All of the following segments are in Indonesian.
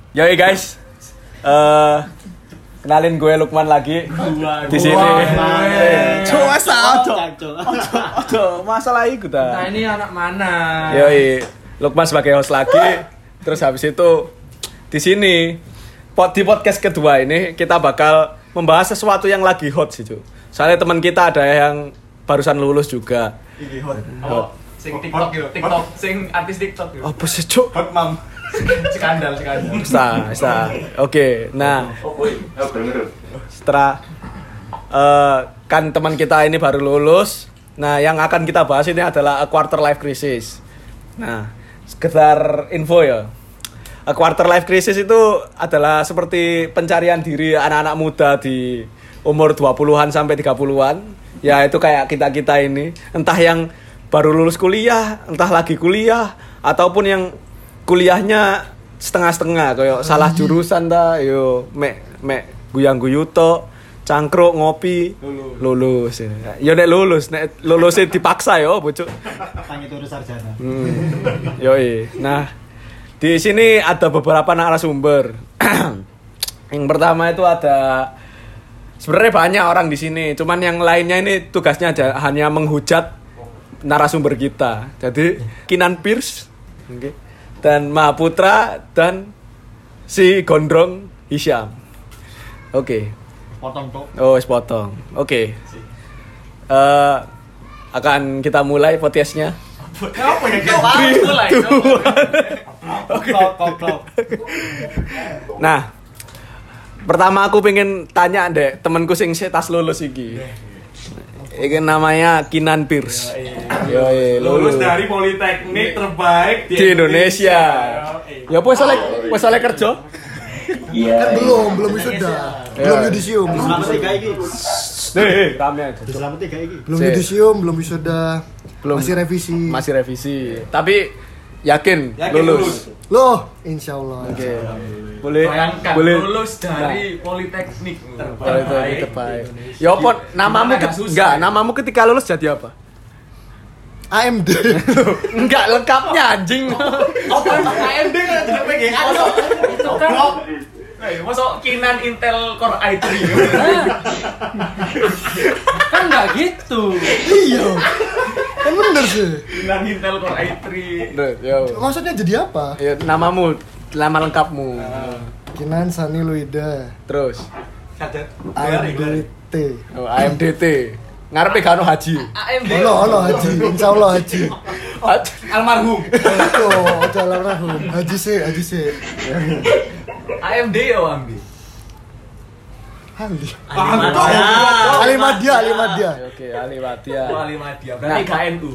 Yoi guys, kenalin gue Lukman lagi di sini. Coba Masalah itu dah. Nah ini anak mana? Yoi, Lukman sebagai host lagi. Terus habis itu di sini di podcast kedua ini kita bakal membahas sesuatu yang lagi hot sih, Cuk. Soalnya teman kita ada yang barusan lulus juga. Ini hot. Oh, sing TikTok yo, TikTok, sing artis TikTok yo. Apa sih, Cuk? Hot mam. Skandal. Bisa. Oke, nah setelah kan teman kita ini baru lulus. Nah, yang akan kita bahas ini adalah a quarter life crisis. Nah, sekedar info ya. A quarter life crisis itu adalah seperti pencarian diri anak-anak muda di umur 20-an sampai 30-an. Ya, itu kayak kita-kita ini, entah yang baru lulus kuliah, entah lagi kuliah, ataupun yang kuliahnya setengah-setengah kayak salah jurusan dah, yo mek guyang-guyu tok, cangkruk ngopi, lulus. Ya nek lulus dipaksa yo, bocok. Tanya turun sarjana. Yoi. Nah, di sini ada beberapa narasumber. Yang pertama itu ada sebenarnya banyak orang di sini, cuman yang lainnya ini tugasnya hanya menghujat narasumber kita. Jadi Kinan Pierce, okay, dan Mahaputra dan si Gondrong Hisyam. Oke. Potong tok. Oh, potong. Oke. Akan kita mulai podcastnya. Apa ya? Mulai. Klop. Nah, pertama aku pengen tanya deh temanku sing tas lulus iki. Iki namanya Kinan Pierce. Yoi, Lulus dari Politeknik terbaik di Indonesia. Ya wes oleh kerja. Kan belum wisuda. Belum yudisium. Selamat 3 iki. Rame aja. Selamat 3 iki. Belum yudisium, belum wisuda. Masih revisi. Tapi yakin lulus. Loh, insyaallah. Oke. Boleh lulus dari Politeknik terbaik. Ya apa namamu ketika lulus jadi apa? AMD. Enggak lengkapnya anjing. Apa AMD kan tidak PGA itu kan. Masuk Kinan Intel Core i3. Kan enggak gitu. Iya. Kan bener sih. Kinan Intel Core i3. Maksudnya jadi apa? Ya nama lengkapmu. Kinan Sani Luida. Terus AMDT. Oh, AMDT. Ngarepe gak ono haji. AMD. Ono haji, insyaallah haji. Almarhum. Oh, almarhum. Haji sih. AMD ya ambil. Alimadia. Oke, Alimadia. Alimadia. Berarti KNU.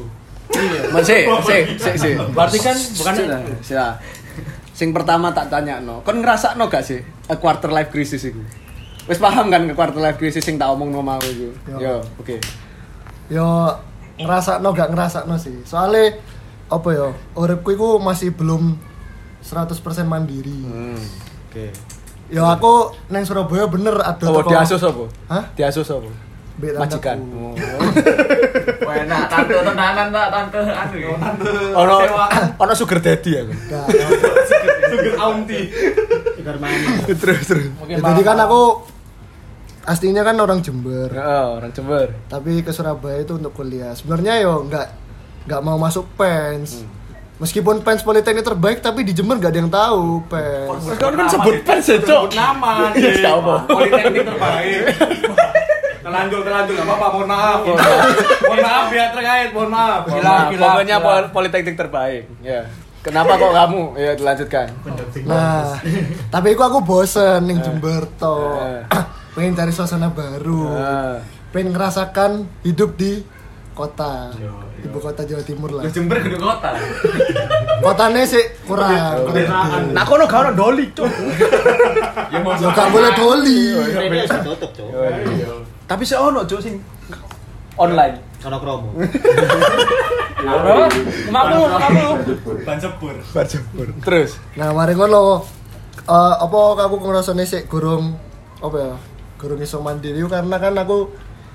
Sih. Berarti kan bukan sila. Sing pertama tak tanya no. Kon ngrasakno gak sih a quarter life crisis iku? Wis paham kan ke quarter life crisis sing tak omongno mau iku? Yo, oke. Yo ngrasakno gak ngrasakno sih. Soale apa ya? Uripku iku masih belum 100% mandiri. Oke. Ya aku neng Surabaya bener ada toko. Diasus apa? Hah? Diasus apa? Majikan. Wah, enak tante tenanan tak tante anu ya. Ono sugar daddy aku. Sugar aunty. Sugar mami. Terus. Jadi kan aku aslinya kan orang Jember. Oh, orang Jember. Tapi ke Surabaya itu untuk kuliah. Sebenarnya yo enggak mau masuk PENS. Meskipun PENS Politeknik terbaik tapi di Jember enggak ada yang tahu PENS. Kan sebut PENS ya, Cok. Nama. Iya, apa? Politeknik terbaik. Terlanjur enggak apa-apa, mohon maaf ya terkait, mohon maaf. Pokoknya Politeknik terbaik. Ya. Kenapa kok kamu? Ya dilanjutkan. Nah, tapi aku bosen ning Jember toh. Pengen cari suasana baru. Pengen ngerasakan hidup di kota. Ibu kota Jawa Timur lah. Jember gede kota. Kotane sih kurang. Nah, kono gak ono doli, Cuk. Ya mau Gak boleh doli. Ini sudah tutup, Cuk. Tapi sih ono, Cuk, sing online. Ono kromo. Berapa? 50. Ban jebur. Terus. Nah, mari ngono. Apa aku ngrasane sik gurung apa ya? Gurung iso mandiri karena kan aku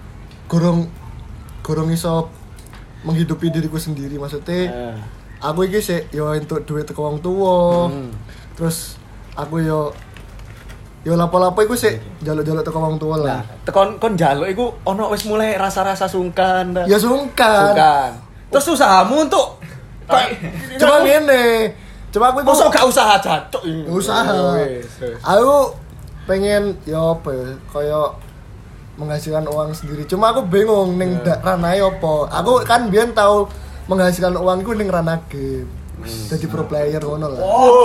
gurung iso menghidupi diriku sendiri, maksudnya aku iki sik yo entuk duit teko wong tuwa. Terus aku yo lapo-lapo iku sik njaluk-njaluk teko wong tuwa lah. Nah, kon njaluk iku ono wis mulai rasa-rasa sungkan. Ya sungkan. Terus usahamu untuk Cuma ngene. Cuma aku iku mosok gak usaha jancuk. usaha. Aku pengen ya apa ya, kaya menghasilkan uang sendiri. Cuma aku bingung ning ranah apa. Aku kan biyen tau menghasilkan uangku ning ranah game. Jadi pro player ngono lah.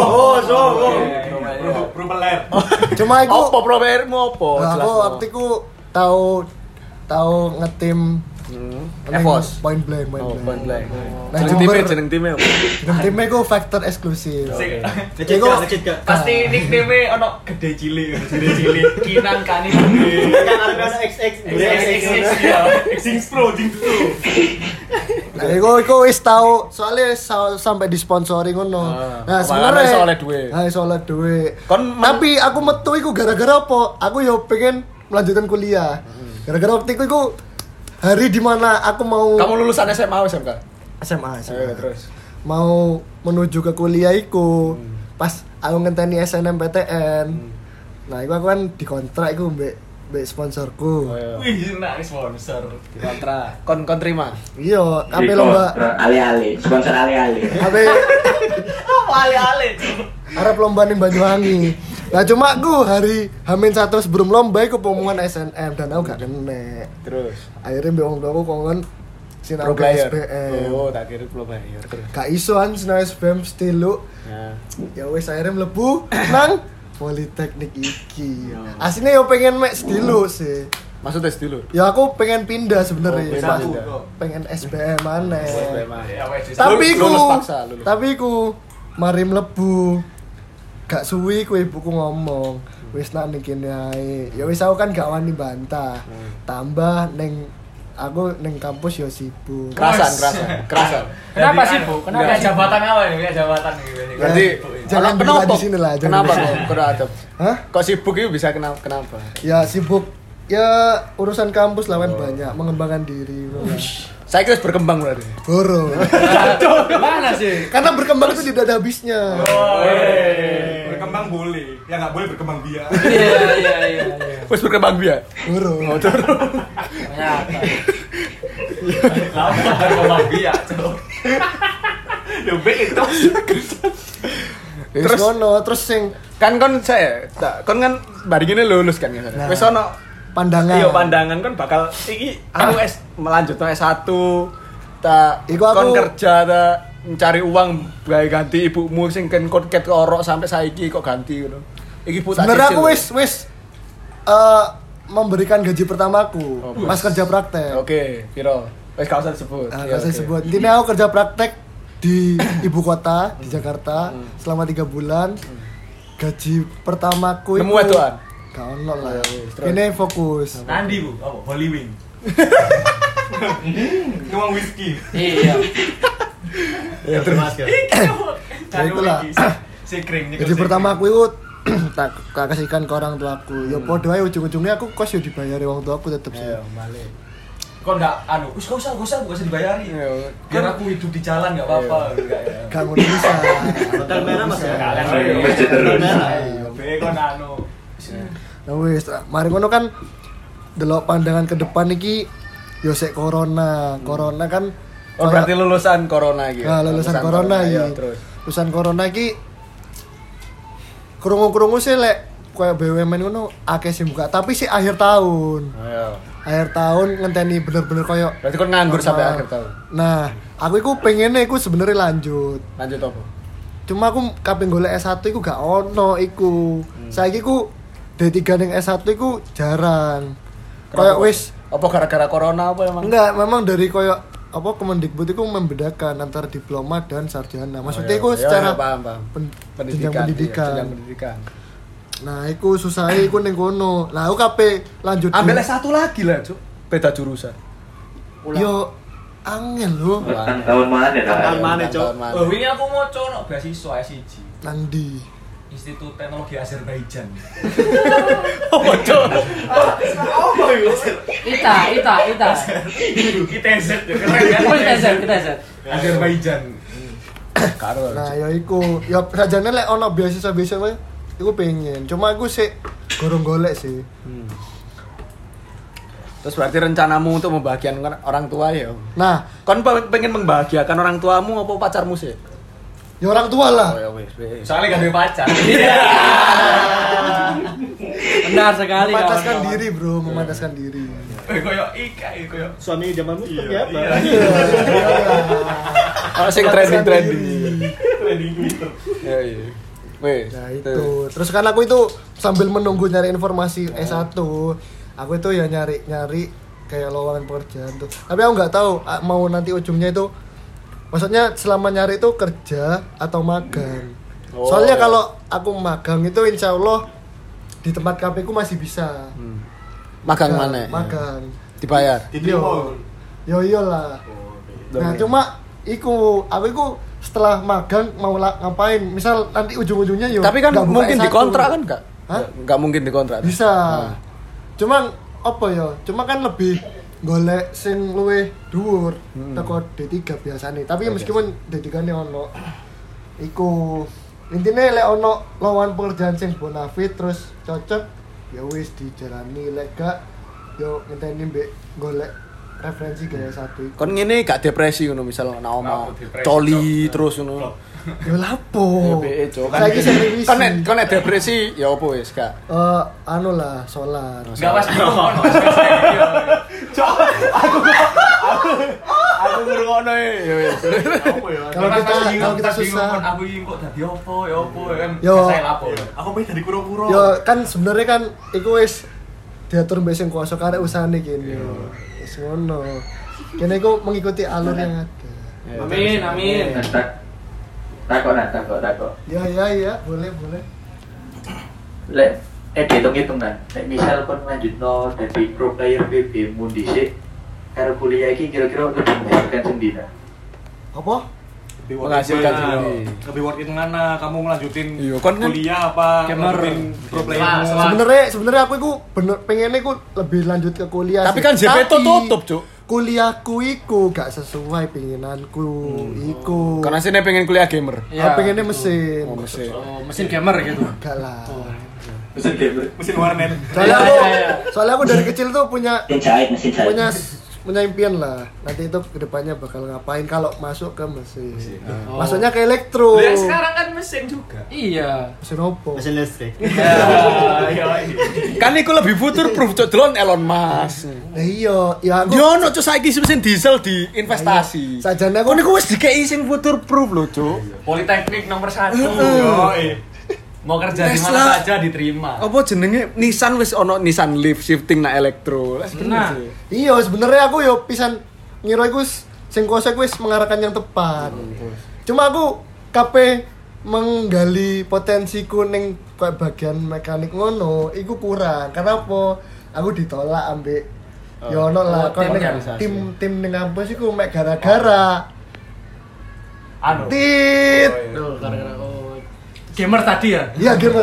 Pro player. Cuma iku Apa playermu apa? aku waktu iku tau ngetim Evos. Point blank. Point blank. Nah, Jeneng time apa? timnya ku factor eksklusif. Ngecit gak? Pasti nickname ono gede cilik, Kinan Kani. Kan ada XX. Jinx Pro. Nah, iku wis tau soalnya sampai disponsori ngono. Nah, sebenarnya soalnya duit. Nah, soalnya duit. Tapi Tapi aku metu iku gara-gara apa? Aku yo pengen melanjutkan kuliah. Gara-gara waktu iku hari dimana aku mau kamu lulusan SMA atau SMK? SMA. Terus. Mau menuju ke kuliah iku pas aku ngenteni SNMPTN. Nah, iku aku kan dikontrak iku mbek sponsorku. Wih, nak sponsor. Kontra. Kon terima. Iya, ape lomba Ale-ale, sponsor ale-ale. ape Ale-ale. arep lomba ning Banyuwangi. Nah, cuma aku hari H-1 sebelum lomba iku pengumuman SNM dan aku gak kena. Terus. Akhirnya mbek wong tuaku kongon sinau Pro player. SBM. Oh, tak kira pro player. Terus. Gak iso an sinau SBM stilu. Ya. Ya wis akhirnya mlebu nang Politeknik iki. Aslinya yo pengen mek stilu sih. Maksudnya dulu. Ya aku pengen pindah sebenarnya. Oh, Pas pindah. pengen SBM maneh. Ya wes. Tapi Lulus ku paksa, lulus. tapi ku mari mlebu. Gak suwi ku ibuku ngomong, wis nak ning kene ae. Ya wis aku kan gak wani bantah. Tambah ning aku ning kampus yo sibuk. Kerasan. Kenapa sih, Bu? Kenapa jabatan apa ini? Ya jabatan gitu. Berarti Jangan kenapa? bilang di sini lah, jangan Kenapa di kok sini. beradab? Hah? Kok sibuk itu bisa kenapa? Ya sibuk. Ya urusan kampus lawan banyak, mengembangkan diri. Saya kira berkembang berarti. Goro. Mana sih? Karena berkembang itu tidak ada habisnya. Berkembang boleh, ya nggak boleh berkembang biak. Iya. Wes berkembang biak. Goro. Berkembang biak, Cok. Yo itu. Terus ngono, terus sing Kan kon kan bari gini lulus kan ya. Nah. Wes ono pandangan. iya pandangan kan bakal iki aku melanjutno S1 tak Iku aku- kon kerja ta mencari uang gawe ganti ibumu sing ken ket orok sampai saiki kok ganti ngono. Iki bu tak Sebenarnya cicil. aku wis memberikan gaji pertamaku pas kerja praktek. Oke, piro? Wes gak usah disebut. Nah, Iya, saya oke. sebut. Intinya aku kerja praktek di ibu kota di Jakarta selama 3 bulan. Gaji pertamaku Nemu wedokan? Gak ono lah. Ya, wis, terus. Ini fokus. Nandi, Bu. Apa? Holy Wing. Nuang whisky. Iya. Ya masker. Ya, itulah. Si kring. Gaji pertamaku itu tak kasihkan ke orang tuaku. Ya podo ae ujung-ujungnya aku kos yo dibayari wong tuaku tetep sih. Ayo, balik. Kok enggak wis gak usah dibayari. Iya. Biar aku hidup di jalan enggak apa-apa. Enggak ya. Gak ngono bisa. Hotel merah Mas ya. Kalian Masjid terus. Hotel merah. Ayo, be kon anu. Nah wis, mari ngono kan delok pandangan ke depan iki yo sik corona. Corona kan Oh, berarti lulusan corona gitu. Nah, lulusan corona iya, iki. terus. Lulusan corona iki krungu-krungu sih lek koyo BUMN ngono akeh sing buka, tapi sih akhir tahun. Ayo. Akhir tahun ngenteni bener-bener koyo Berarti kon nganggur sampai normal. akhir tahun. Nah, aku iku pengennya iku sebenarnya lanjut. Lanjut apa? Cuma aku kaping golek S1 iku gak ono iku. Saiki ku D3 ning S1 iku jarang. Kayak wis Apa gara-gara corona apa emang? enggak, memang dari koyo apa Kemendikbud itu membedakan antara diploma dan sarjana. Maksudnya iku secara paham. jenjang pendidikan. Jenjang pendidikan. Nah, iku susah iku ning kono. Lah aku kape lanjut. Ambil S1 lagi lah, Cuk. Beda jurusan. Yo angel lho. Tahun mana ya? Tahun mana, Cuk? Oh, wingi aku mau cono beasiswa S1. Nang ndi? Institut Teknologi Azerbaijan. Ita. ITZ ya, keren kan? Kita set. Azerbaijan. Karo. Nah, ya iku. Ya sajane lek ono beasiswa-beasiswa iku pengen. Cuma aku sih gorong golek sih. Terus berarti rencanamu untuk membahagiakan orang tua ya? Nah, Kon pengen membahagiakan orang tuamu apa pacarmu sih? ya orang tua lah. Oh ya wis. Soalnya gak ada pacar. Benar sekali. Memantaskan kawan-kawan. diri, Bro, memantaskan diri. Koyo Ika, koyo Suami zamanmu seperti apa? Oh sing trending. trending Twitter. Ya iya. Wes. Nah itu, terus kan aku itu sambil menunggu nyari informasi S1, aku itu ya nyari kayak lowongan pekerjaan tuh. Tapi aku nggak tahu mau nanti ujungnya itu, maksudnya selama nyari itu kerja atau magang. Oh. Soalnya kalau aku magang itu insya Allah di tempat KP ku masih bisa. Magang mana? Magang. Dibayar. Yo iyalah. Nah cuma aku iku setelah magang mau ngapain? Misal nanti ujung-ujungnya yo. Tapi kan nggak buka mungkin S1. dikontrak kan enggak? Hah? Enggak mungkin dikontrak. Bisa. Cuman apa ya? Cuma kan lebih golek sing luwih dhuwur teko D3 biasane. Tapi meskipun D3-ne ono iku intine lek ono lowongan pekerjaan sing bonafit terus cocok ya wis dijalani, lek gak yo ngenteni mbek golek referensi gaya satu iku. Kon ngene gak depresi ngono misal ana oma Aku depresi, coli Cok. terus ngono. Yo lapo. BE Cok. Saiki sing revisi. Kon nek depresi ya opo wis gak. Anu lah sholat. Enggak pas bingung. Aku ngrungokno ya wis. Kalau kita susah. Aku iki kok dadi opo ya opo kan. Yo. Saya lapo. Aku pengen dadi kuro-kuro. Yo kan sebenarnya kan iku wis diatur mbek sing kuasa karek usahane kene. Wis ngono. Kene iku mengikuti alur yang ada. Amin. Takut. Ya, boleh. Lek dihitung-hitungan. Lek misal kon lanjutno dadi pro player PB mu dhisik karo kuliah iki kira-kira lebih menghasilkan sendiri. Apa? Menghasilkan sendiri. Lebih worth it mana kamu ngelanjutin Iya, kan kuliah apa gamer. ngelanjutin pro player. Sebenarnya aku iku bener pengennya iku lebih lanjut ke kuliah. Tapi sih. kan JP itu tutup, Cuk. Kuliahku iku gak sesuai pengenanku iku. Karena sini pengen kuliah gamer. Aku pengennya mesin. Oh, mesin. Oh, mesin gamer gitu. Gak lah. Mesin warnet. Soalnya aku dari kecil tuh punya Mesin jahit. punya impian lah. Nanti itu kedepannya bakal ngapain kalau masuk ke mesin. Maksudnya ke elektro. Lah sekarang kan mesin juga. Iya. Mesin opo? Mesin listrik. Kan iku lebih future proof Cuk delon Elon Musk. Nah iya, ya aku. Yo ono Cuk saiki mesin diesel di investasi. Sajane Kon aku iku wis dikei sing future proof lho, Cuk. Politeknik nomor 1. Yo. Mau kerja di Tesla. mana saja diterima. Apa jenenge Nissan wis ono Nissan Leaf shifting na elektro. Nah. iya sebenarnya aku yo pisan ngira iku sing kuasa iku wis mengarahkan yang tepat. Cuma aku kape menggali potensiku ning kayak bagian mekanik ngono, iku kurang. Karena apa? Aku ditolak ambek yo ono lah koyo tim ning kampus iku mek gara-gara Anu. tit. Tuh, gara-gara gamer tadi ya? Iya gamer.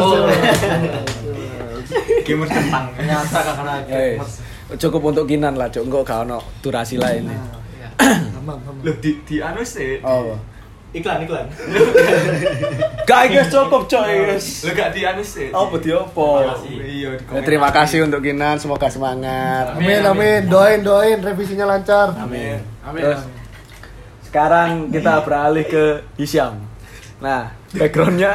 Gamer centang. Ternyata karena gamer. Cukup untuk Kinan lah, Cuk. Engko gak ono durasi lain. Aman. Loh di anu sih. Oh. Iklan. Gak guys cukup, Cuk, guys. Lo gak di anu sih. Apa di opo? Iya di Ya, terima kasih untuk Kinan, semoga semangat. Amin. Doain revisinya lancar. Amin. Amin. Terus sekarang kita beralih ke Hisyam. Nah, backgroundnya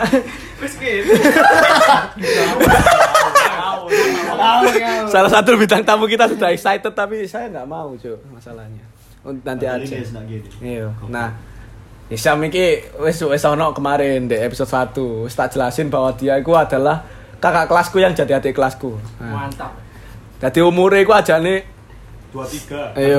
salah satu bintang tamu kita sudah excited tapi saya nggak mau cuy masalahnya. Nanti aja. Iya. Nah, Hisyam iki wis ono kemarin di episode 1 wis tak jelasin bahwa dia itu adalah kakak kelasku yang jadi adik kelasku. Nah, Mantap. jadi umurnya itu ajane 23. Ayo.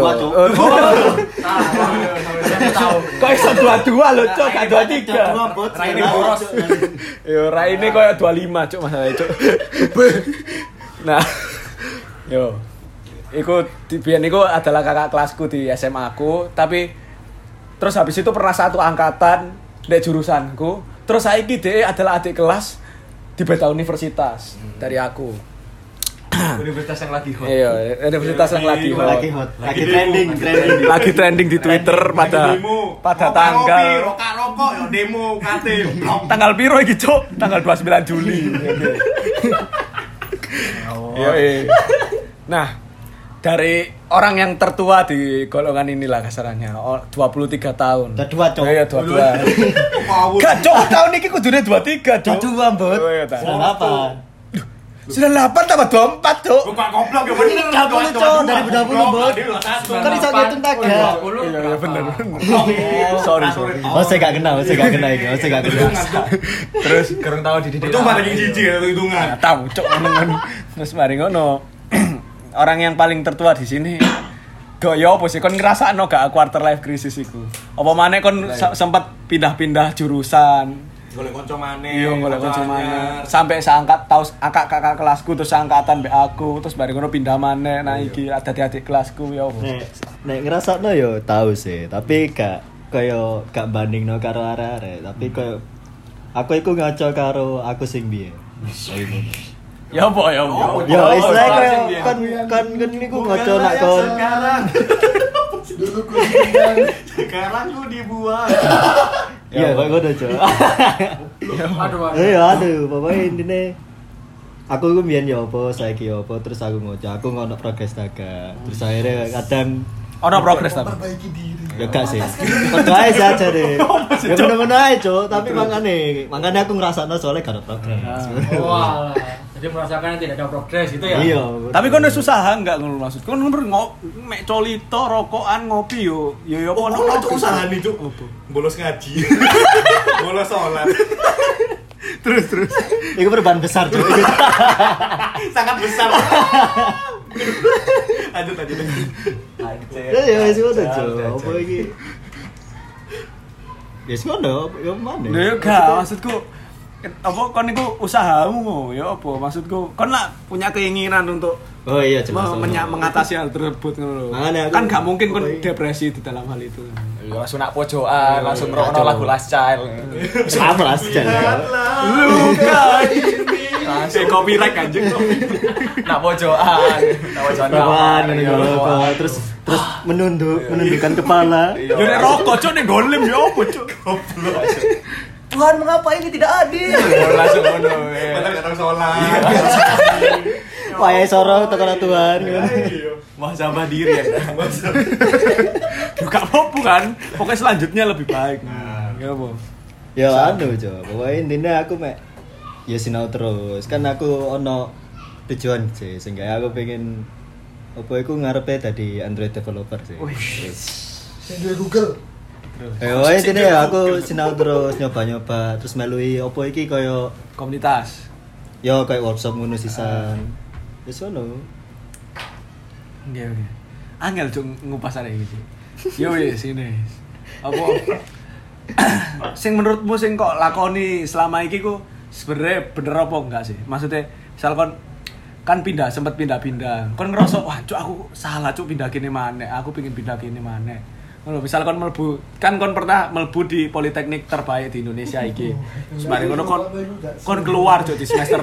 Kok iso 22 lho, Cuk, gak 23. Raine boros. Yo, raine koyo 25, Cuk, masalahnya, Cuk. Nah, yo. Iku biyen iku adalah kakak kelasku di SMA aku, tapi terus habis itu pernah satu angkatan di jurusanku. Terus saiki dhek adalah adik kelas di beda universitas dari aku. Universitas yang lagi hot. Iya, universitas yang lagi hot. Lagi trending. Lagi trending di Twitter pada tanggal rokok yo demo kate. tanggal piro iki, Cuk? Tanggal 29 Juli. Iya. Nah, dari orang yang tertua di golongan inilah kasarannya 23 tahun. Udah dua, Cok. Iya, 22. Gak, Cok, tahun ini kudune 23, Cok. Dua, Mbot. Oh, iya, tak. 98 tambah 24, Cok. Bukan goblok ya bener. 30, Cok, dari 20, Mbot. Kan iso ngitung taga. Iya, bener. Sorry. Oh, saya gak kenal iki. Terus kurang tahu dididik. Itu mah lagi jijik ya hitungan. Tahu, Cok. Terus mari ngono. Orang yang paling tertua di sini yo apa sih kon ngrasakno gak quarter life crisis iku? Apa maneh kon sempat pindah-pindah jurusan? Golek kanca maneh. Iya, golek kanca maneh. Sampai seangkat tahu kakak kelasku terus seangkatan mbek aku, terus bareng ngono pindah maneh. Nah iki adik-adik kelasku yo apa? Nek ngrasakno yo tahu sih, tapi gak bandingno karo arek-arek, tapi koyo aku iku ngaco karo aku sing biyen. Ya apa? Ya istilahnya kan niku ngaco nak kon. Sekarang ku dibuang. Iya, kok ngono, Cok. Aduh, pokoknya intine aku iku mbiyen ya apa, saiki ya apa, terus aku ngoco, aku ngono progres daga. Terus akhirnya kadang ono progres ta? Perbaiki diri. ya gak sih. Padha ae saja deh. Ya bener-bener ae, Cok, tapi makanya aku ngrasakno soalnya gak ada progres. Wah. Jadi merasakan tidak ada progres gitu ya. Iya. Tapi kon wis usaha enggak ngono maksud. Kon mek colito, rokokan, ngopi yo. Yo Oh, ono itu usaha nih, Cuk. Bolos ngaji. Bolos sholat. Terus. Iku perubahan besar, Cok. Sangat besar. Lanjut. Ya wis ngono, Cok. Apa iki? Ya ngono, yo mana? Lho yo gak maksudku apa kon niku usahamu ya apa maksudku kon lah punya keinginan untuk Oh iya jelas. mengatasi hal tersebut ngono lho. Makanya aku- Kan gak mungkin kon depresi di dalam hal itu. Langsung nak pojokan, langsung ngrokno lagu Last Child. Sama lah sih. Luka ini. Langsung copyright anjing. Nak pojokan Kawan ngono terus menundukkan kepala. Yo nek rokok cuk nek golem yo apa cuk. Goblok. Tuhan, mengapa ini tidak adil? Langsung ngono. Padahal gak tahu sholat. Wae soro tekan Tuhan. Wah sabar diri ya. Gak apa-apa kan. Pokoknya selanjutnya lebih baik. Ya apa? Ya anu, Cok. Pokoknya intinya aku mek ya sinau terus. Kan aku ono tujuan sih, sehingga aku pengen apa iku ngarepe dadi Android developer sih. Sing duwe Google. Pokoknya intinya ya aku sinau terus nyoba-nyoba terus melui apa iki kaya Komunitas. ya kayak workshop ngono sisan. Wis ono. Nggih. Angel cuk ngupas arek iki. Yo wis sini. Apa sing menurutmu sing kok lakoni selama iki ku sebenarnya bener apa enggak sih? Maksudnya misal kon kan sempat pindah-pindah. Kon ngerasa wah cuk aku salah cuk pindah kene maneh. Aku pengen pindah kene maneh. Ngono, misal kon mlebu kan kon pernah mlebu di politeknik terbaik di Indonesia iki. Semare ngono kon keluar cuk di semester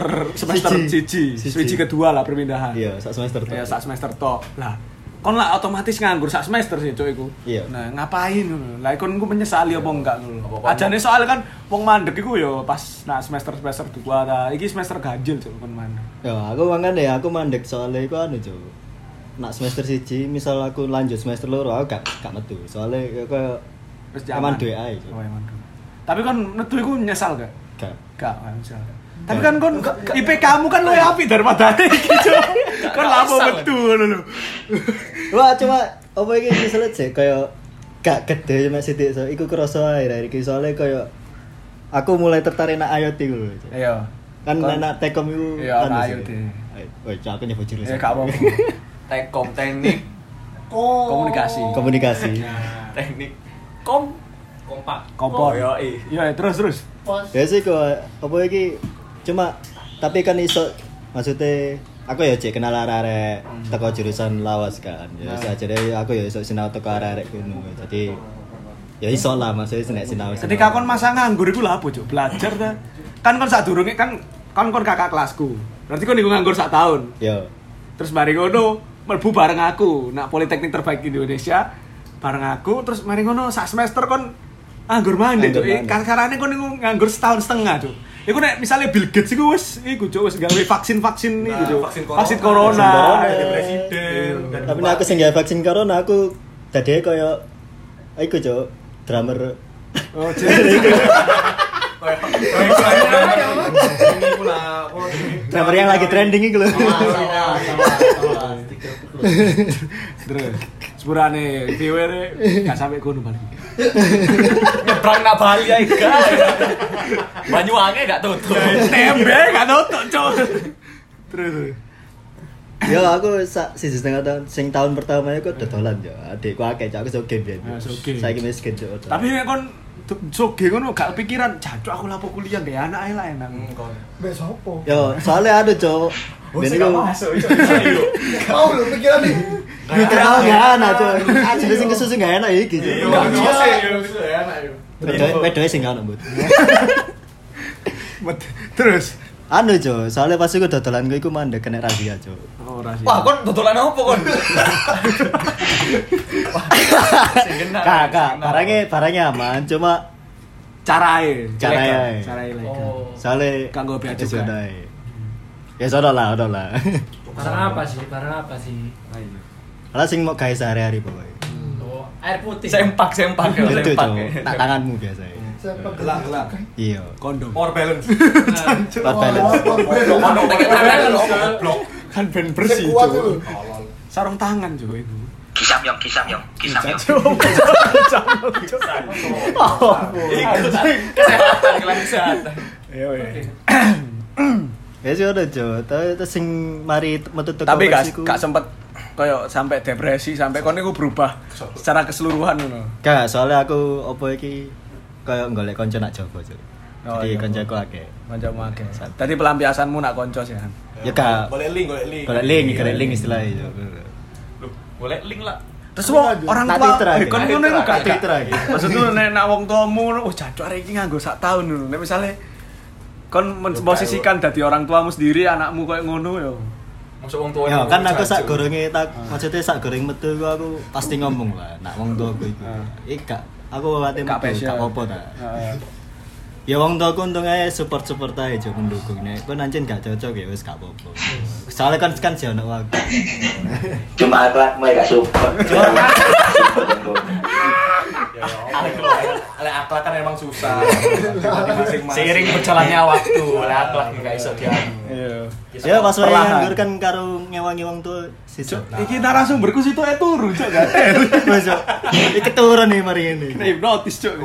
siji kedua lah perpindahan. Iya, sak semester Ya sak semester tok. Lah kon lah otomatis nganggur sak semester sih cuk iku. Iya. Nah, ngapain ngono? Lah kon ku menyesali apa enggak ngono. Ajane soal kan wong mandek iku ya pas nak semester 2 ta. Iki semester ganjil cuk kon mandek. Ya, aku aku mandek soalnya iku anu, Cok. Nak semester 1, misal aku lanjut semester 2, aku gak metu. Soalnya ya koyo Wis aman dhewe ae. Cok. Oh, aman. Tapi kon metu iku nyesal gak? Gak. Gak nyesal. Tapi kan kon IP kamu kan luwih apik daripada iki cuk. Kon lapo metu ngono lho. Wah, cuma apa iki misalnya sih kayak gak gede mek sithik so iku kerasa akhir-akhir iki soalnya kayak aku mulai tertarik nak IoT iku lho. Iya. Kan anak Telkom iku Iya, sih. IoT. Woi, aku nyebut Ya jurusan. gak apa-apa. Tekkom, teknik Komunikasi. teknik kompak. Kompor. Yo, Iya, terus. Ya sih kok apa iki cuma tapi kan iso maksudnya aku ya cek kenal arek-arek teko jurusan lawas kan. Ya jadi aku ya iso sinau teko arek-arek ngono. Jadi ya iso lah maksudnya nek sinau. Ketika kon masa nganggur iku lha apa cuk? Belajar ta. Kan kon sadurunge kan kon kakak kelasku. Berarti kon iku nganggur 1 tahun. Yo. Terus mari ngono mlebu bareng aku. Nak Politeknik terbaik Indonesia bareng aku terus mari ngono sak semester kon nganggur mandek cuk. Karane kon niku nganggur 1,5 tahun cuk. Iku nek misale Bill Gates iku wis gawe vaksin-vaksin iki cuk. Vaksin corona. Presiden. Tapi nek aku sing gawe vaksin corona aku dadi koyo iku cuk, drummer. Oh, jadi Drummer yang lagi trending iku lho. terus sepurane viewer gak sampe kono balik. Nyebrang nak Bali ae gak. Banyuwangi gak tutup. Tembe gak tutuk cuk. Terus Yo aku 1,5 tahun sing tahun pertama iku dodolan yo. Adikku akeh cak aku soge biyen. soge. Saiki miskin cuk. tapi nek kon soge ngono gak kepikiran, jancuk aku lapo kuliah gak anak ae lah enak. Mbek sopo? Yo, soalnya ada cuk. Ben iku Mau lho pikiran nih. mikir aku gak enak cuk. Jadi sing kesusu gak enak iki cuk. Wedoe sing gak ono, Bud. Terus Anu cuk, soalnya pas iku dodolan iku mandek kena razia cuk. oh rahasia. Wah, kon dodolan apa kon? Sing kena. Kakak, barangnya aman, cuma Carae Carae. ilegal. Oh. soalnya Kanggo bea cukai. Ya sono lah. Barang apa sih? Lah sing mau gawe sehari-hari pokoke. Oh, air putih. Sempak Itu sempak. cuk, tak tanganmu biasa. Gelak. Iya. Kondom. Power balance. Not balance. Ono tekan tangan lho goblok. Kan ben bersih Kuat cuk. lho. Sarung tangan juga itu. Kisam yong. Kesehatan, kesehatan. Ya weh. Ya sih udah cuk, tapi sing mari metu teko Tapi versiku. gak sempet koyo sampai depresi sampai kon niku berubah secara keseluruhan ngono. Gak, soalnya aku opo iki kayak golek kanca nak jopo cuk. Oh, Jadi iya, kancaku akeh. Kancamu akeh. Tadi pelampiasanmu nak konco sih kan. Ya gak Golek link. golek link istilahnya cuk. Loh, boleh link lah. Terus wong orang Tak tua Twitter aja. kon ngono iku gak Twitter aja. Maksudku nek nak wong tuamu ngono, oh jancuk arek iki nganggo 1 tahun ngono. Nek misale kon memposisikan dadi orang tuamu sendiri anakmu koyo ngono yo. Masuk wong tua. Ya kan aku sak gorenge maksudnya sak goreng metu iku aku pasti ngomong lah nak wong tuaku iku. Iki gak aku ate Gak metu passion. gak apa-apa ta. Ya wong tuaku untung ae support ae jo mendukung nek kowe nancen gak cocok ya wis gak apa-apa. Soalnya kan si ono waktu. Cuma akhlakmu gak support. Lek akhlak kan emang susah. Seiring berjalannya waktu, akhlak gak iso dianu. Iya. Ya pas wae Perlahan. nganggur kan karo ngewangi wong tuwa sisuk. Iki narasumberku situ turu cuk gak. Wes cuk. Iki turun nih mari ini. Hipnotis cuk.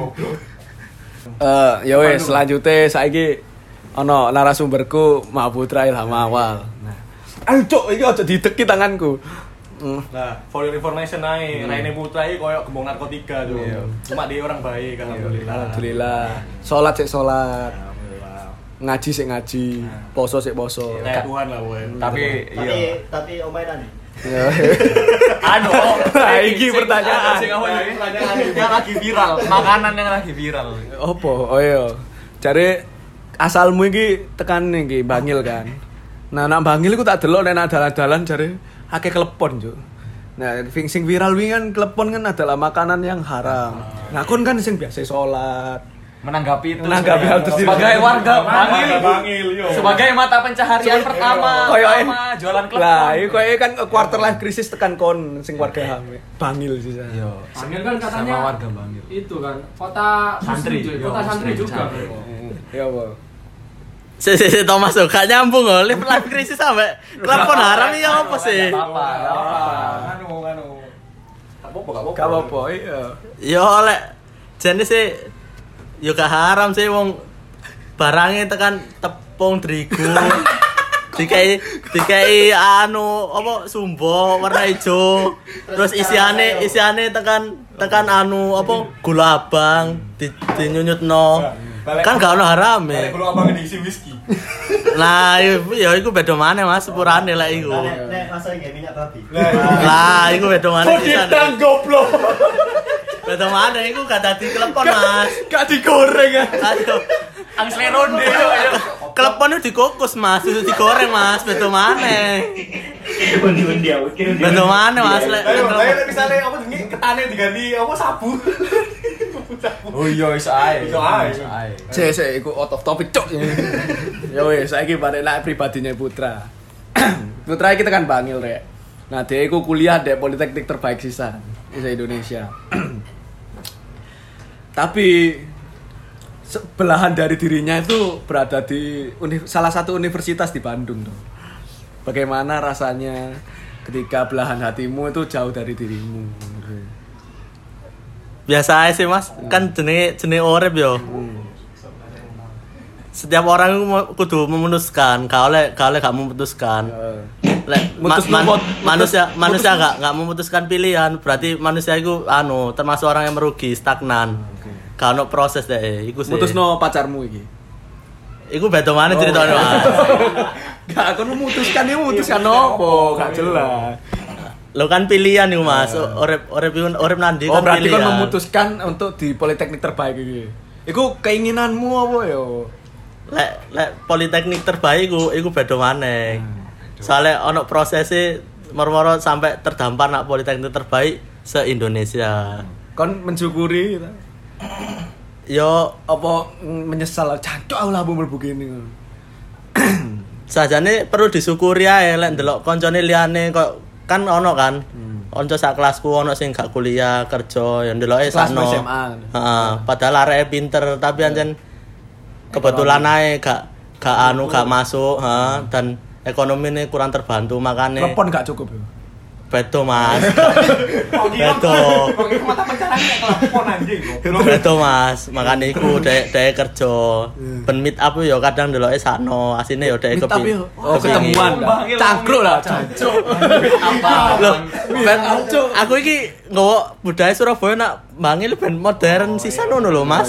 Ya wes selanjutnya saiki ono narasumberku Mahaputra Ilham Awal. Nah. Ayo cuk iki aja dideki tanganku. Nah, for your information ae, Raine Putra iki koyo gembong narkotika tuh. Cuma dia orang baik alhamdulillah. Alhamdulillah. Salat sik salat, Alhamdulillah. ngaji sik ngaji, poso sik poso. Kayak Tuhan lah woy. Tapi iya. Tapi omainan nih. Anu, Nah, iki pertanyaan. Sing apa iki? Yang lagi viral, makanan yang lagi viral. Opo? Oh iya. Jare asalmu iki tekan iki Bangil kan. Nah, nang Bangil iku tak delok nek dalan-dalan jare akeh klepon, Cuk. Nah, sing viral wingi kan klepon kan adalah makanan yang haram. Nah, kon kan sing biasa salat. Menanggapi itu Hal tersebut. sebagai warga Bangil Bangil, yo. sebagai mata pencaharian pertama jualan klepon. Lah, iku koyo kan quarter life crisis tekan kon sing warga Bangil sih. Bangil kan katanya Sama warga Bangil. itu kan kota Santri. kota santri juga. Ya apa? Si Thomas tuh gak nyambung loh, live krisis sampai klepon haram ya apa sih? Apa? Anu. Gak apa-apa, iya. Ya oleh jenis sih, ya gak haram sih wong barangnya tekan tepung terigu, dikai anu apa sumbo warna hijau, terus isiane tekan anu apa gula abang, dinyunyut no. Kan gak ono haram ya. Kalau abang diisi whisky. Nah, ya iku beda maneh Mas, sepurane lek iku. Nek masalah kayak minyak babi. Lah, iku beda maneh pisan. goblok. Beda maneh iku gak dadi klepon Mas. Gak digoreng ya. Aduh. Angsleronde yo. Klepon itu dikukus Mas, itu digoreng Mas, betul maneh. Undi-undi aku kira. Betul maneh Mas lek. Ayo misalnya apa jenenge ketane diganti apa sabu. Oh iya iso ae. Iso ae. Sik, iku out of topic cok. Ya wis, saiki balik nek pribadinya Putra. Putra iki tekan Bangil rek. Nah, dia iku kuliah di Politeknik terbaik sisan di Indonesia. Tapi belahan dari dirinya itu berada di salah satu universitas di Bandung tuh. Bagaimana rasanya ketika belahan hatimu itu jauh dari dirimu? Biasa aja sih Mas, kan jenis urip yo. Setiap orang itu kudu memutuskan, kalau gak memutuskan. Lek manusia gak memutuskan pilihan, berarti manusia itu termasuk orang yang merugi, stagnan. Kalau proses deh, iku sih. Mutusno pacarmu iki. Iku beda mana ceritanya Mas? Gak aku memutuskan opo, gak jelas. Lo kan pilihan nih Mas, urip nanti kan berarti pilihan. kan memutuskan untuk di Politeknik terbaik iki. Iku keinginanmu apa yo? Lek Politeknik terbaik iku beda maneh. Soalnya ono prosesnya moro-moro sampai terdampar nak Politeknik terbaik se-Indonesia. Kon mensyukuri gitu. Yo apa menyesal jancuk aku lah mlebu kene. Sajane perlu disyukuri ae lek ndelok koncone liyane kok kan ono kan. Onco sak kelasku ono sing gak kuliah, kerja, ya ndeloke sakno. Heeh, padahal areke pinter tapi ancen kebetulan ae gak masuk, dan ekonomine kurang terbantu makane. Telepon gak cukup yo. Beto Mas. Beto. Mata pencarian telepon anjing kok. Beto Mas, makane iku dhek kerja. Ben meet up yo kadang ndeloke sakno, asine yo dhek kepin. Oh, ketemuan. Cangkruk lah, jancuk. Apa? Loh, ben aku iki nggawa budaya Surabaya nak Bangil ben modern sisan ngono lho Mas.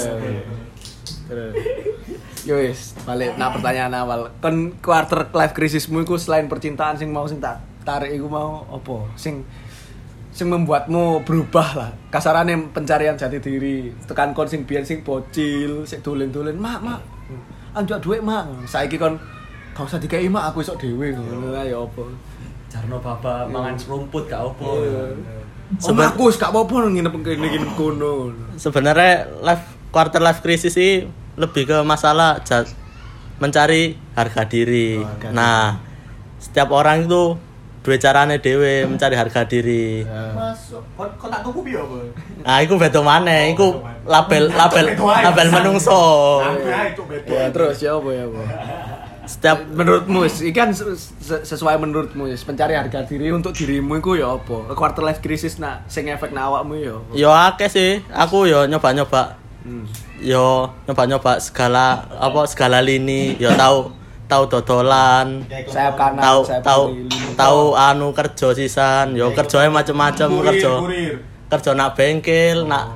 Yo wis, balik nak pertanyaan awal. Kon quarter life crisismu iku selain percintaan sing mau sing tak tarik iku mau apa? Sing membuatmu berubah lah. Kasarane pencarian jati diri. Tekan kon sing biyen sing bocil, sing dolen-dolen, "Mak, anjuk dhuwit, Mak." Saiki kon gak usah dikei, Mak, aku isok dhewe ngono lah ya apa. Jarno baba mangan serumput gak opo. Aku wis gak apa-apa nginep kene kono. Sebenarnya quarter life crisis sih lebih ke masalah mencari harga diri. Nah, setiap orang itu dua carane dhewe mencari harga diri. Masuk. Kok tak tuku piye apa? Nah, iku beda maneh, iku label menungso. Ya terus ya apa ya, Bu? Setiap menurutmu iki kan sesuai menurutmu pencari harga diri untuk dirimu iku ya apa? Quarter life crisis nak sing efek nak awakmu ya. Yo akeh sih, aku yo nyoba-nyoba. Yo nyoba-nyoba segala lini, yo tahu dodolan, sayap kanan, tahu kerja sisan, yo kerjanya macam-macam, kerja nak bengkel, nak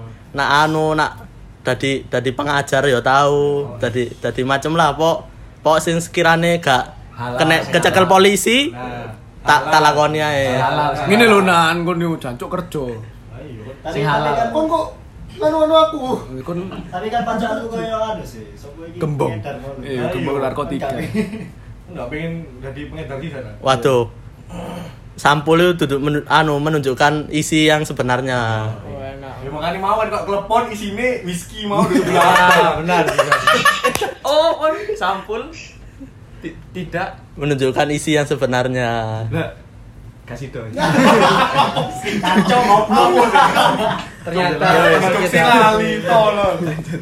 dadi pengajar yo tahu, dadi macam lah pok sing sekirane gak kena kecekel polisi, tak lakoni ae. Ngene lho nan kon yo jancuk kerja. Sing halal. Kon kok anu aku. Kon Tapi kan pacarku koyo sih, sopo iki. gembong. Iya, gembong narkotika. Enggak pengen jadi pengedar di sana. Waduh. Sampul itu duduk menunjukkan isi yang sebenarnya. Ya makanya mau kok telepon isine whisky mau di sebelah. Benar. Oh, on sampul tidak Menunjukkan isi yang sebenarnya. Kasih dong. Kacau ngopo. Ternyata sekali tolong.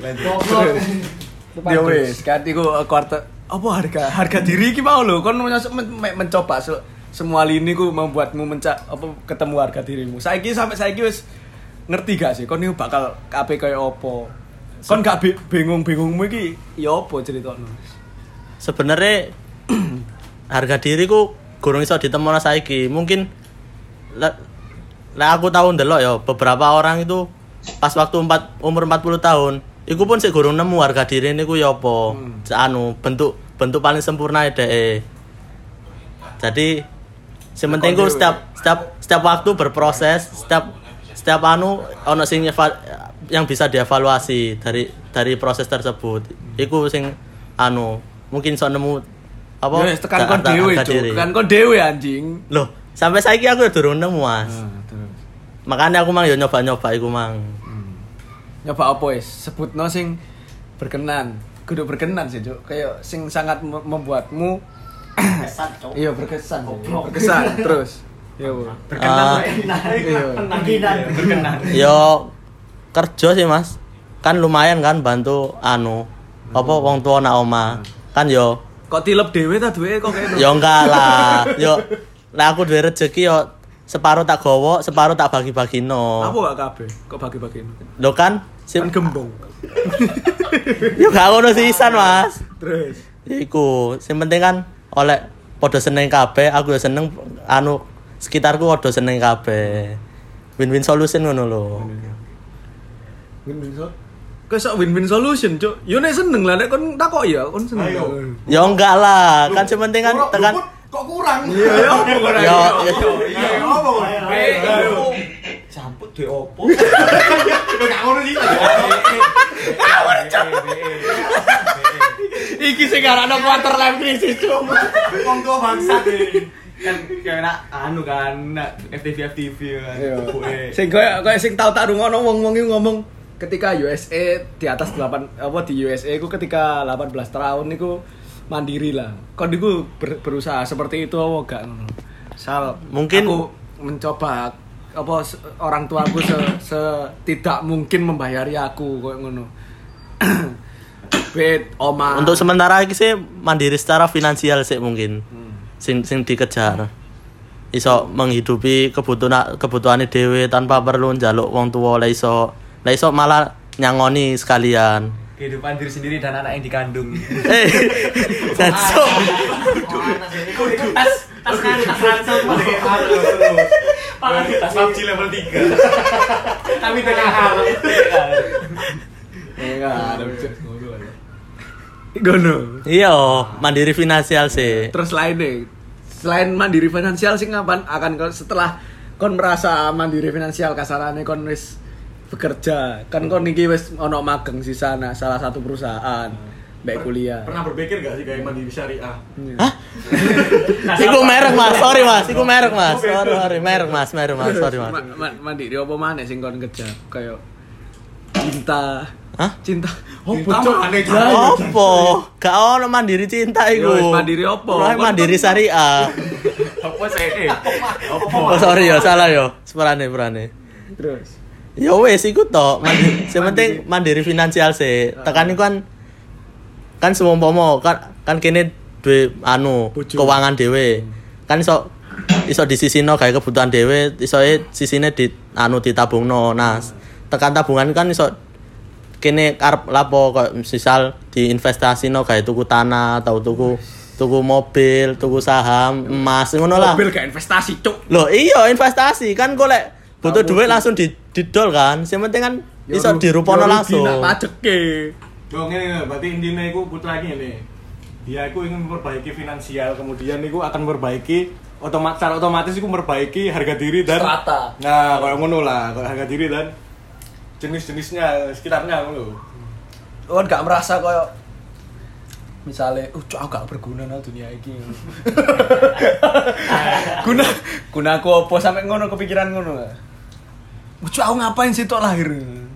Ya wis, kan iku quarter apa harga diri iki mau lho kon mencoba semua lini ku membuatmu ketemu harga dirimu. Sampai saiki wis ngerti gak sih kon iki bakal kabeh kaya apa? Kon gak bingung-bingungmu iki ya apa ceritane? Sebenarnya harga diriku gurung iso ditemoni saiki. Mungkin aku tahu ndelok ya beberapa orang itu pas waktu umur 40 tahun, iku pun sik gurung nemu harga diri niku ya apa. Bentuk paling sempurna dhek. Jadi sing penting ku setiap waktu berproses, setiap ono sing yang bisa dievaluasi dari proses tersebut. Iku sing mungkin iso nemu apa? Ya wis tekan kon dhewe, harga Cuk. diri. Tekan kon dhewe anjing. Loh, sampai saiki aku ya durung nemu, Mas. Terus. Makanya aku mang yo nyoba-nyoba iku mang. Nyoba apa wis? Sebutno sing berkenan. Kudu berkenan sih, Cuk. Kayak sing sangat membuatmu Kesan, Cok. iya berkesan. Berkesan terus. Iya, Bu. Berkenan. Yo kerja sih, Mas. Kan lumayan kan bantu apa wong tua nak omah. Kan yo Kok tilep dhewe ta duwe kok kene. yo enggak lah. Yo lah aku duwe rezeki yo separuh tak gowo, separuh tak bagi-bagino. Apa gak kabeh? Kok bagi-bagi? Lho kan Kan gembong. yo gak ngono sisan, Mas. Terus. Iku, sing penting kan oleh padha seneng kabeh, aku yo seneng sekitarku padha seneng kabeh. Win-win solution ngono lho. Win-win so. Kok sok win-win solution, Cuk. Yo nek seneng lah nek kon takok ya, kon seneng. Ayo. Ya enggak lah, kan sing penting kan tekan Kok kurang? Iya, ya apa kurang? yo Iya, apa? Ayo. Campur duwe opo? Enggak ngono sih. Iki sing arakno quarter life crisis, Cuk. Wong tua bangsat iki. Kan kayak FTV kan. Sing koyo sing tau tak rungono wong-wong iki ngomong ketika USA di atas 8 apa di USA iku ketika 18 tahun niku mandiri lah. Kon niku berusaha seperti itu apa gak ngono. Misal Mungkin- aku mencoba apa orang tuaku tidak mungkin membayari aku koyo ngono. Bet oma. untuk sementara iki sih mandiri secara finansial sih mungkin. Sing dikejar. Iso menghidupi kebutuhane dhewe tanpa perlu njaluk wong tuwa lah iso malah nyangoni sekalian. Kehidupan diri sendiri dan anak yang dikandung. Jancuk. Tas ransel tas PUBG level 3. Tapi tengah hal. Enggak ada Gono. Iya, mandiri finansial sih. Terus lainnya, selain mandiri finansial sih ngapain akan setelah kon merasa mandiri finansial kasarane kon wis bekerja kan kon iki wis ono magang di sana salah satu perusahaan mbek kuliah. Pernah berpikir gak sih kayak mandiri syariah? Hah? Iku merek, Mas. Sorry, Mas. Iku merek, Mas. Sorry, merek, Mas. Sorry, Mas. Mandiri apa maneh sing kon kejar kayak cinta. Hah? Cinta. Cinta Cuk? maneh, Cuk. Lah, Opo? Gak ono mandiri cinta iku. Ya wis mandiri opo? Lah mandiri syariah. Apa sih? Oh, sorry ya, salah ya. Seperane. Terus. Ya wis iku tok. Sing penting mandiri finansial sih. Tekan iku kan semompomo kan kene duwe Bojo. keuangan dhewe. Kan iso disisino gawe kebutuhan dhewe, iso sisine ditabungno. Nah, tekan tabungan kan iso kene arep lapo kok misal diinvestasino gawe tuku tanah atau tuku mobil, tuku saham, emas ngono lah. Mobil gak investasi, Cuk. Loh, iya investasi kan golek butuh duit langsung didol kan. Yang penting kan iso dirupono langsung. Ya pajeke. Yo ngene berarti intine iku putra iki ngene. Dia iku ingin memperbaiki finansial, kemudian iku akan memperbaiki secara otomatis iku memperbaiki harga diri dan Strata. Nah, kalau ngono lah, kalau harga diri dan jenis-jenisnya sekitarnya ngono. Kon gak merasa koyo misalnya, cuk aku gak berguna nang dunia iki. Guna aku apa sampe ngono kepikiran ngono. Cuk aku ngapain sih tok lahir.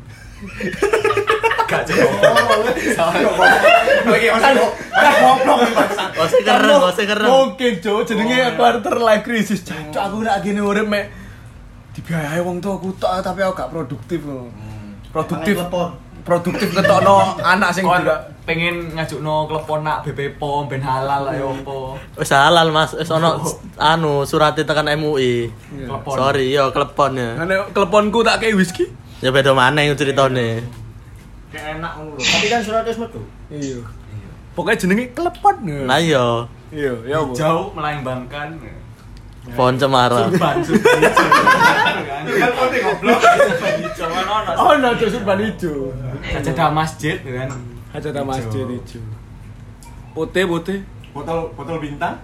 Gak cukup. Oke, goblok bangsa. Masih keren. Mungkin cuk jenenge quarter life crisis. Cuk aku nek gini urip mek dibiayai wong tuaku tok tapi aku gak produktif. Produktif ketokno anak sing Kon juga pengen ngajukno klepon nak BP POM ben halal ayo opo. Wis halal Mas, wis ono surate tekan MUI. Klepon. Sorry yo klepon ya. ngene teleponku tak kei whisky. Ya beda maneh ceritane. Kayak enak ngono lho. Tapi kan surat wis metu. Iya. Pokoknya jenenge klepon. Nah yo, Iya, ya apa? Jauh melambangkan pohon cemara. ban kan. Kan kote goblok. Jangan ono. Oh, no, surban ijo. Sajadah masjid kan. Hajat masjid ijo. Putih. Botol bintang.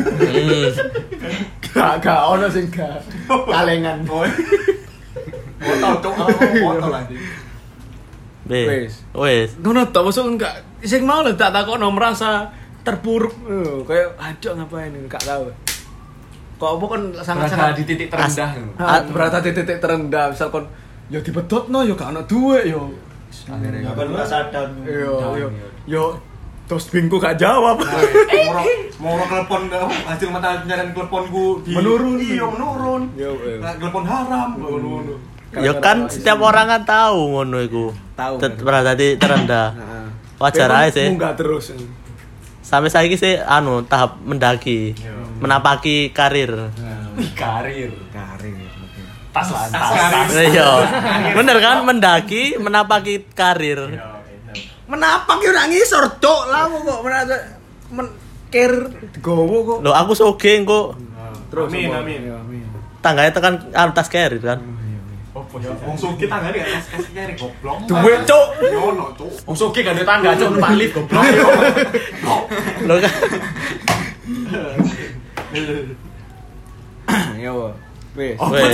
Gak ono sing gak kalengan. Botol cuk, botol anjing. Wis. Ngono tok maksud enggak sing mau lho tak takokno merasa terpuruk. Kayak aduh ngapain ini enggak tahu. Kok apa kan sangat-sangat di titik terendah. berada di titik terendah. Misal kon yo dibedotno yo gak ono duit yo. Akhirnya Apa merasa down? Yo terus bingku gak jawab. Mau telepon hasil mata pencarian teleponku Menurun. Iya, menurun. Yo. Telepon haram ngono. Ya kan setiap orang kan tahu ngono iku. Tahu. Berada di terendah. Wajar aja sih. Munggah terus. Sampai saiki sih tahap mendaki. Menapaki karir. karir. Karir. Tas lah. Iya. Bener kan mendaki menapaki karir. Menapak yo ora ngisor, Cuk. Lah kok ker digowo kok. Loh aku soge kok. Terus Amin. Tangganya tekan tas karir kan. Wong sugih tanggane gak kasih kere goblok. duit, Cuk. Yo ono, Cuk. Wong sugih gak ada tangga, cuk numpak lift goblok. Loh kan. Yo. Wis. Weh.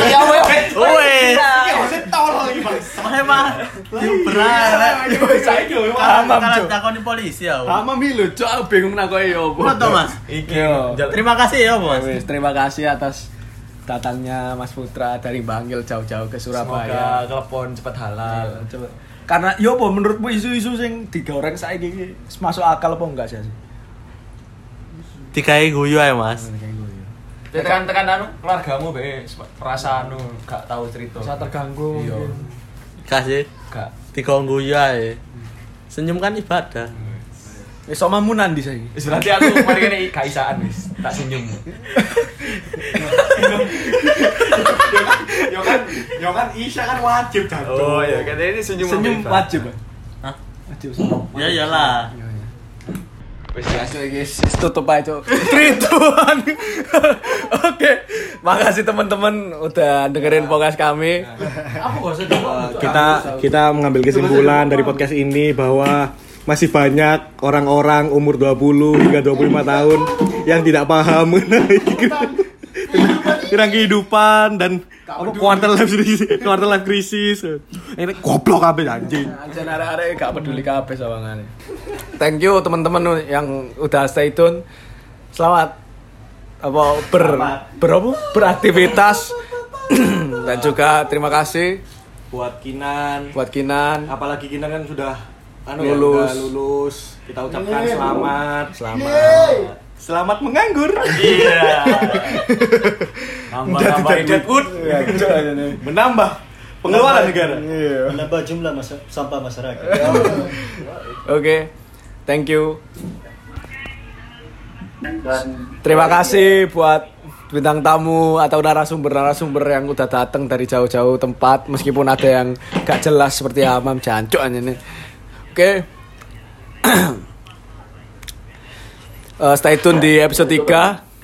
Tolong iki, Bang. Emang diubrak. Saiki yo Paham, Kalau Cuk. takoni polisi ya. Ama mi lho, Cuk, aku bingung nakoke yo apa. Foto Mas. Yo. Terima kasih ya Mas. Wis, terima kasih atas datangnya Mas Putra dari Bangil jauh-jauh ke Surabaya. Semoga telepon cepat halal. Coba. Karena yo apa menurutmu isu-isu sing digoreng saiki iki masuk akal apa enggak sih? Dikai guyu ae Mas. Tekan anu keluargamu be merasa anu gak tahu cerita. Bisa terganggu. Iya. Kasih. Gak. Dikon guyu ae. Senyum kan ibadah. Wis omamunan di saiki. Wis berarti aku mari kene gak isaan wis. Tak senyum. Yo kan Isya kan wajib jatuh. Oh iya, katanya ini senyum. Senyum wajib. Hah? Wajib senyum. Ya iyalah. Wis ya. Guys, tutup aja. 3, 2, 1. Oke. Makasih teman-teman udah dengerin podcast kami. Kita mengambil kesimpulan dari podcast ini bahwa masih banyak orang-orang umur 20 hingga 25 tahun yang tidak paham mengenai tentang kehidupan dan quarter life crisis. Ini goblok kabeh anjing. Anjir arek-arek gak peduli kabeh sawangane. Thank you teman-teman yang udah stay tune. Selamat beraktivitas dan juga terima kasih Buat Kinan, apalagi Kinan kan sudah lulus. Kita ucapkan selamat menganggur. Iya. Nambah Deadwood. Menambah pengeluaran negara. Menambah jumlah sampah masyarakat. Oke. Thank you. Terima kasih buat bintang tamu atau narasumber yang udah datang dari jauh-jauh tempat meskipun ada yang gak jelas seperti Hamam jancuk ini. Oke. Stay tune di episode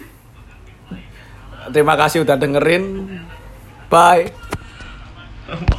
3. Terima kasih udah dengerin. Bye.